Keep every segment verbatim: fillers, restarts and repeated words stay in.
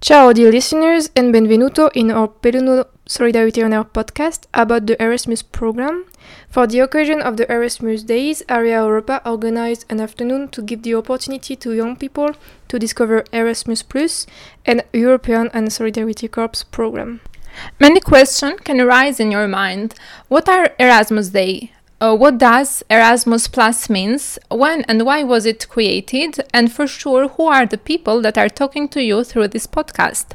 Ciao dear listeners and benvenuto in our Belluno Solidarity on Air podcast about the Erasmus program. For the occasion of the Erasmus Days, Area Europa organized an afternoon to give the opportunity to young people to discover Erasmus Plus and European and Solidarity Corps program. Many questions can arise in your mind. What are Erasmus Day? Uh, what does Erasmus Plus means? When and why was it created? And for sure, who are the people that are talking to you through this podcast?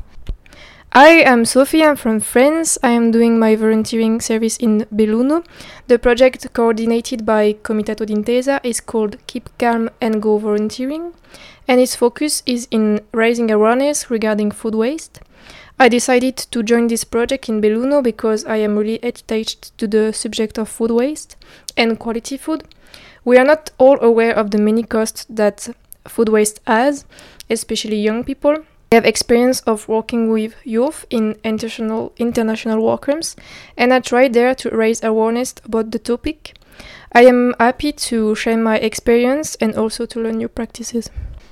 I am Sophie, I'm from France. I am doing my volunteering service in Belluno. The project coordinated by Comitato d'Intesa is called Keep Calm and Go Volunteering, and its focus is in raising awareness regarding food waste. I decided to join this project in Belluno because I am really attached to the subject of food waste and quality food. We are not all aware of the many costs that food waste has, especially young people. I have experience of working with youth in international international work camps, and I tried there to raise awareness about the topic. I am happy to share my experience and also to learn new practices.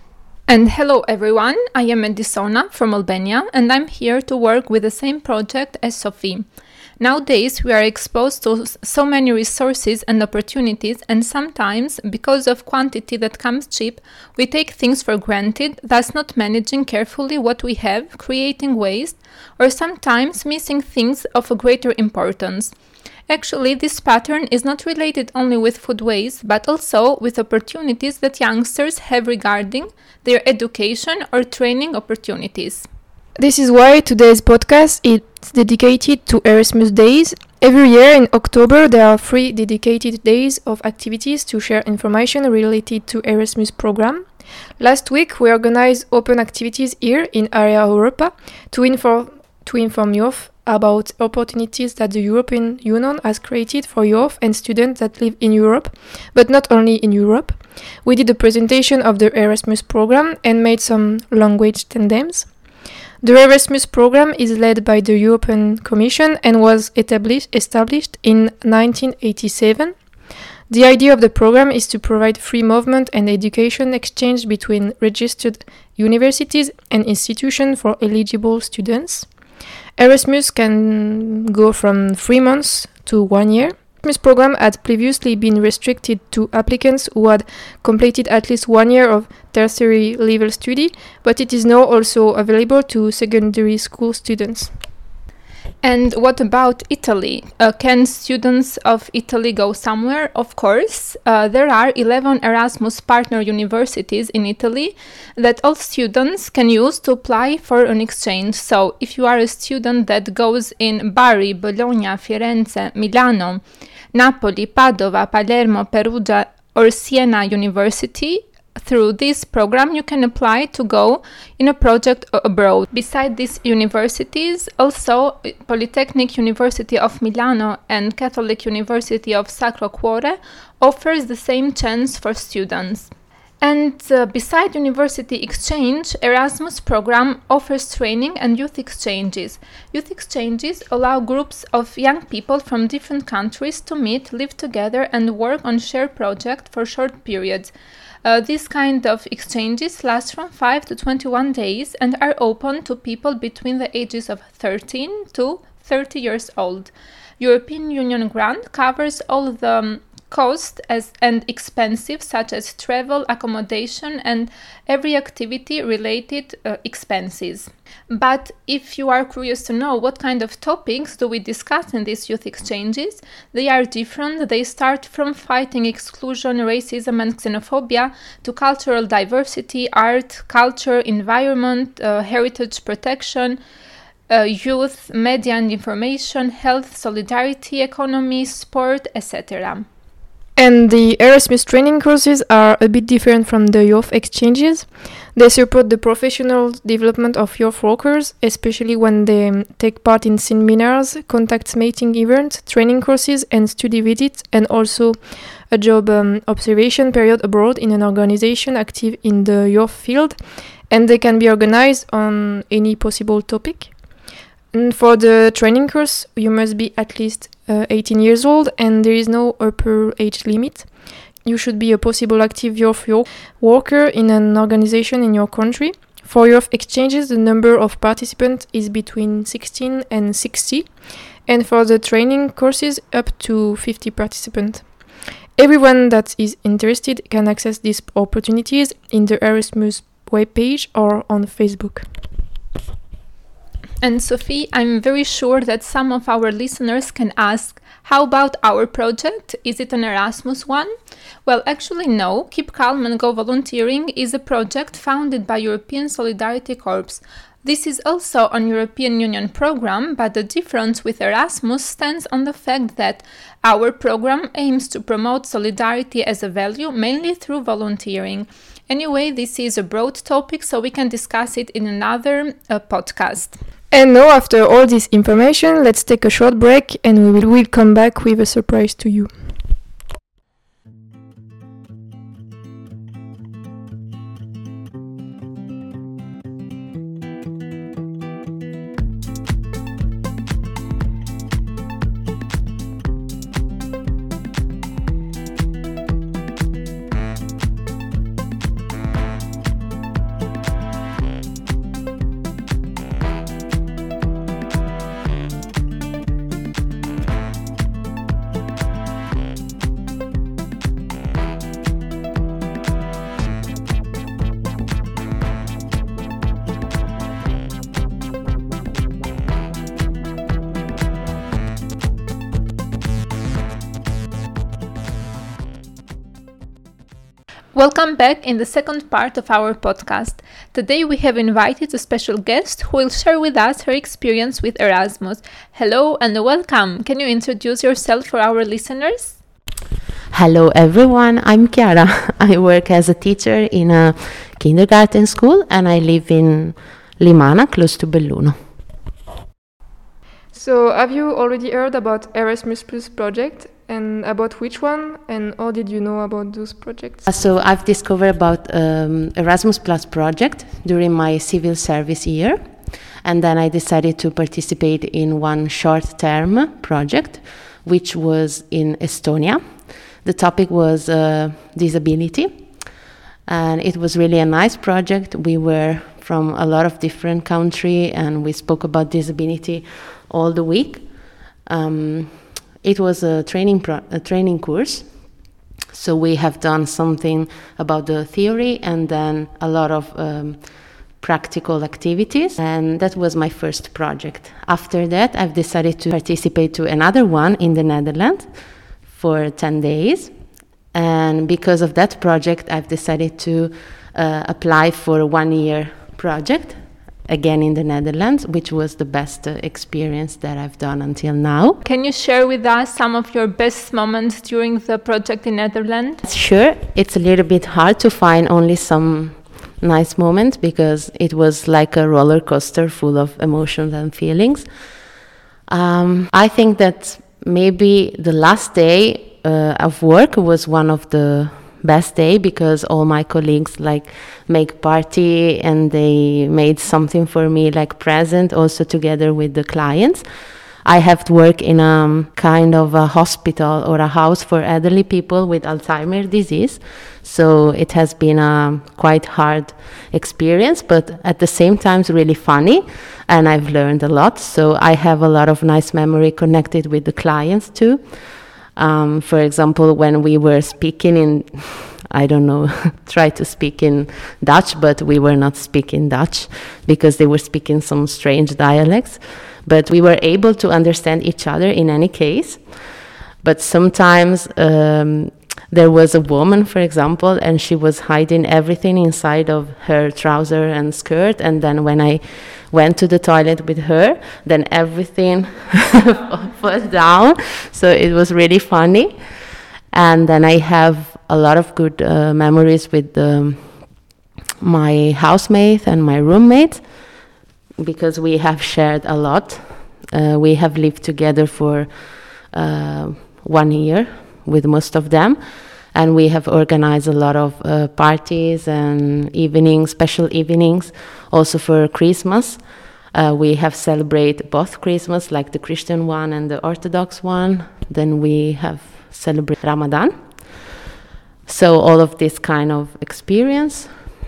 And hello everyone, I am Edisona from Albania and I'm here to work with the same project as Sophie. Nowadays we are exposed to so many resources and opportunities, and sometimes, because of quantity that comes cheap, we take things for granted, thus not managing carefully what we have, creating waste, or sometimes missing things of a greater importance. Actually, this pattern is not related only with food waste, but also with opportunities that youngsters have regarding their education or training opportunities. This is why today's podcast is dedicated to Erasmus Days. Every year in October there are three dedicated days of activities to share information related to Erasmus program. Last week we organized open activities here in Area Europa to inform to inform youth about opportunities that the European Union has created for youth and students that live in Europe, but not only in Europe. We did a presentation of the Erasmus program and made some language tandems. The Erasmus program is led by the European Commission and was established, established in nineteen eighty-seven. The idea of the program is to provide free movement and education exchange between registered universities and institutions for eligible students. Erasmus can go from three months to one year. The Erasmus program had previously been restricted to applicants who had completed at least one year of tertiary level study, but it is now also available to secondary school students. And what about Italy? Uh, can students of Italy go somewhere? Of course. Uh, there are eleven Erasmus partner universities in Italy that all students can use to apply for an exchange. So if you are a student that goes in Bari, Bologna, Firenze, Milano, Napoli, Padova, Palermo, Perugia or Siena University, through this program you can apply to go in a project abroad. Beside these universities, also Polytechnic University of Milano and Catholic University of Sacro Cuore offers the same chance for students. And uh, beside university exchange, Erasmus program offers training and youth exchanges. Youth exchanges allow groups of young people from different countries to meet, live together and work on shared projects for short periods. Uh, these kind of exchanges last from five to twenty-one days and are open to people between the ages of thirteen to thirty years old. European Union grant covers all the um, cost as and expenses such as travel, accommodation and every activity related uh, expenses. But if you are curious to know what kind of topics do we discuss in these youth exchanges, they are different. They start from fighting exclusion, racism and xenophobia to cultural diversity, art, culture, environment, uh, heritage protection, Uh, youth, media and information, health, solidarity, economy, sport, et cetera. And the Erasmus training courses are a bit different from the youth exchanges. They support the professional development of youth workers, especially when they um, take part in seminars, contact making events, training courses and study visits, and also a job um, observation period abroad in an organization active in the youth field. And they can be organized on any possible topic. And for the training course, you must be at least uh, eighteen years old and there is no upper age limit. You should be a possible active youth worker in an organization in your country. For youth exchanges, the number of participants is between sixteen and sixty, and for the training courses, up to fifty participants. Everyone that is interested can access these opportunities in the Erasmus webpage or on Facebook. And Sophie, I'm very sure that some of our listeners can ask, how about our project? Is it an Erasmus one? Well, actually no. Keep Calm and Go Volunteering is a project founded by European Solidarity Corps. This is also an European Union program, but the difference with Erasmus stands on the fact that our program aims to promote solidarity as a value mainly through volunteering. Anyway, this is a broad topic, so we can discuss it in another uh, podcast. And now, after all this information, let's take a short break and we will we'll come back with a surprise to you. Welcome back in the second part of our podcast. Today we have invited a special guest who will share with us her experience with Erasmus. Hello and welcome. Can you introduce yourself for our listeners? Hello everyone, I'm Chiara. I work as a teacher in a kindergarten school and I live in Limana, close to Belluno. So, have you already heard about Erasmus Plus project? And about which one? And how did you know about those projects? So I've discovered about um, Erasmus Plus project during my civil service year. And then I decided to participate in one short-term project, which was in Estonia. The topic was uh, disability. And it was really a nice project. We were from a lot of different countries and we spoke about disability all the week. Um, It was a training pro- a training course, so we have done something about the theory and then a lot of um, practical activities, and that was my first project. After that, I've decided to participate to another one in the Netherlands for ten days, and because of that project, I've decided to uh, apply for a one-year project again in the Netherlands, which was the best uh, experience that I've done until now. Can you share with us some of your best moments during the project in Netherlands? Sure, it's a little bit hard to find only some nice moments because it was like a roller coaster full of emotions and feelings. Um, I think that maybe the last day uh, of work was one of the best day because all my colleagues like make party and they made something for me like present also together with the clients. I have to work in a kind of a hospital or a house for elderly people with Alzheimer's disease. So it has been a quite hard experience, but at the same time it's really funny and I've learned a lot. So I have a lot of nice memory connected with the clients too. Um, for example, when we were speaking in, I don't know, try to speak in Dutch, but we were not speaking Dutch because they were speaking some strange dialects. But we were able to understand each other in any case. But sometimes um, there was a woman, for example, and she was hiding everything inside of her trouser and skirt. And then when I went to the toilet with her, then everything fell down. So it was really funny. And then I have a lot of good uh, memories with um, my housemate and my roommate, because we have shared a lot. Uh, we have lived together for uh, one year with most of them, and we have organized a lot of uh, parties and evenings, special evenings, also for Christmas. Uh, we have celebrated both Christmas, like the Christian one and the Orthodox one. Then we have celebrated Ramadan. So all of this kind of experience.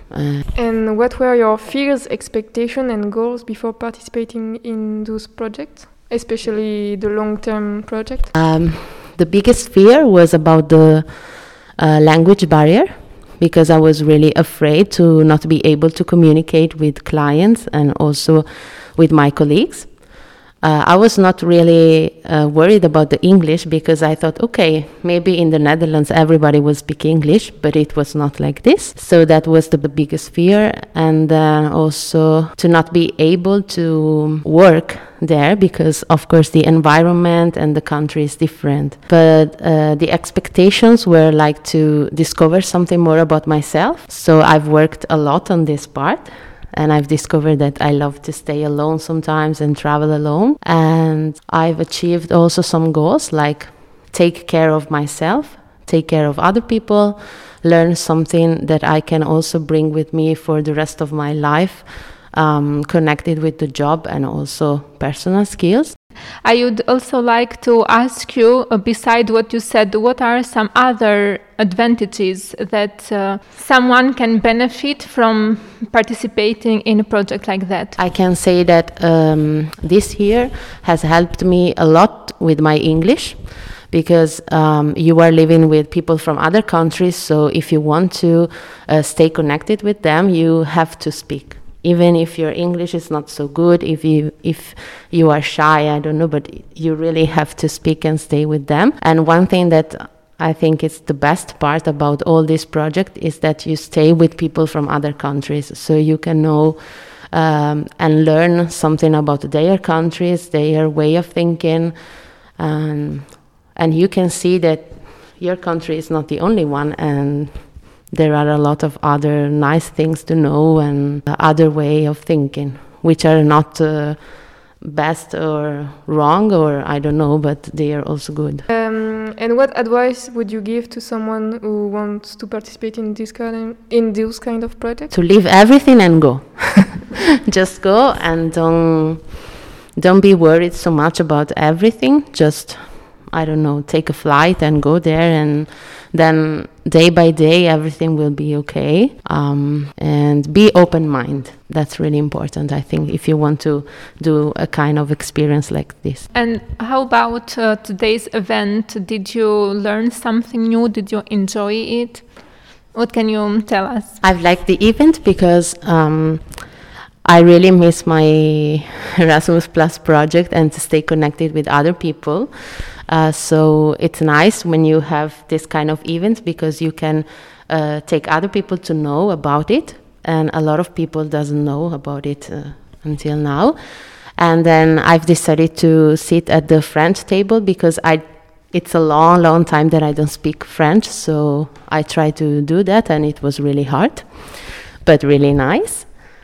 Uh, And what were your fears, expectations, and goals before participating in those projects, especially the long-term project? um, the biggest fear was about the uh, language barrier, because I was really afraid to not be able to communicate with clients and also with my colleagues. Uh, I was not really uh, worried about the English, because I thought, okay, maybe in the Netherlands everybody will speak English, but it was not like this. So that was the biggest fear. And then also to not be able to work there, because of course the environment and the country is different. But uh, the expectations were like to discover something more about myself. So I've worked a lot on this part. And I've discovered that I love to stay alone sometimes and travel alone. And I've achieved also some goals, like take care of myself, take care of other people, learn something that I can also bring with me for the rest of my life, um, connected with the job and also personal skills. I would also like to ask you, uh, beside what you said, what are some other advantages that uh, someone can benefit from participating in a project like that? I can say that um, this year has helped me a lot with my English, because um, you are living with people from other countries, so if you want to uh, stay connected with them, you have to speak. Even if your English is not so good, if you if you are shy, I don't know, but you really have to speak and stay with them. And one thing that I think is the best part about all this project is that you stay with people from other countries, so you can know um, and learn something about their countries, their way of thinking, um, and you can see that your country is not the only one, and there are a lot of other nice things to know and other way of thinking, which are not uh, best or wrong, or I don't know, but they are also good. Um, and what advice would you give to someone who wants to participate in this kind of, in those kind of projects? To leave everything and go. Just go and don't don't be worried so much about everything. Just, I don't know, take a flight and go there, and then day by day everything will be okay. Um, and be open-minded. That's really important, I think, if you want to do a kind of experience like this. And how about uh, today's event? Did you learn something new? Did you enjoy it? What can you tell us? I've liked the event because um, I really miss my Erasmus Plus project and to stay connected with other people. Uh, so it's nice when you have this kind of event, because you can uh, take other people to know about it, and a lot of people doesn't know about it uh, until now. And then I've decided to sit at the French table, because I it's a long, long time that I don't speak French, so I tried to do that, and it was really hard, but really nice.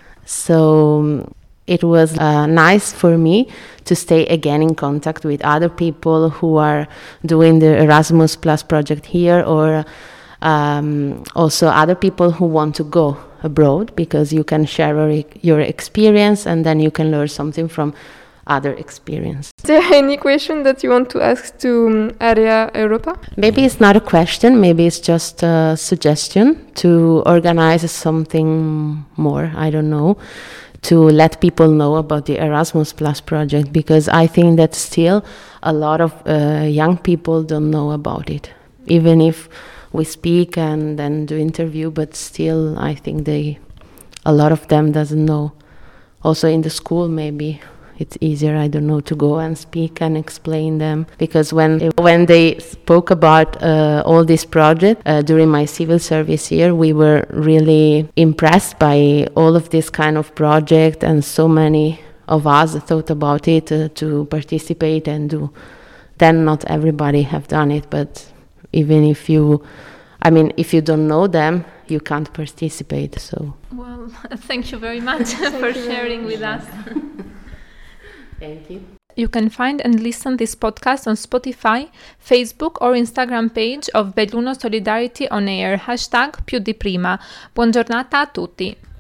So it was uh, nice for me to stay again in contact with other people who are doing the Erasmus Plus project here, or um, also other people who want to go abroad, because you can share your experience and then you can learn something from other experience. Is there any question that you want to ask to um, Area Europa? Maybe it's not a question, maybe it's just a suggestion to organize something more, I don't know, to let people know about the Erasmus Plus project, because I think that still a lot of uh, young people don't know about it. Even if we speak and then do interview, but still I think they, a lot of them doesn't know. Also in the school maybe it's easier, I don't know, to go and speak and explain them. Because when when they spoke about uh, all this project uh, during my civil service year, we were really impressed by all of this kind of project, and so many of us thought about it uh, to participate and do. Then not everybody have done it, but even if you, I mean, if you don't know them, you can't participate. So. Well, thank you very much for sharing with us. Thank you. You can find and listen this podcast on Spotify, Facebook or Instagram page of Belluno Solidarity On Air, hashtag più di prima. Buon giornata a tutti.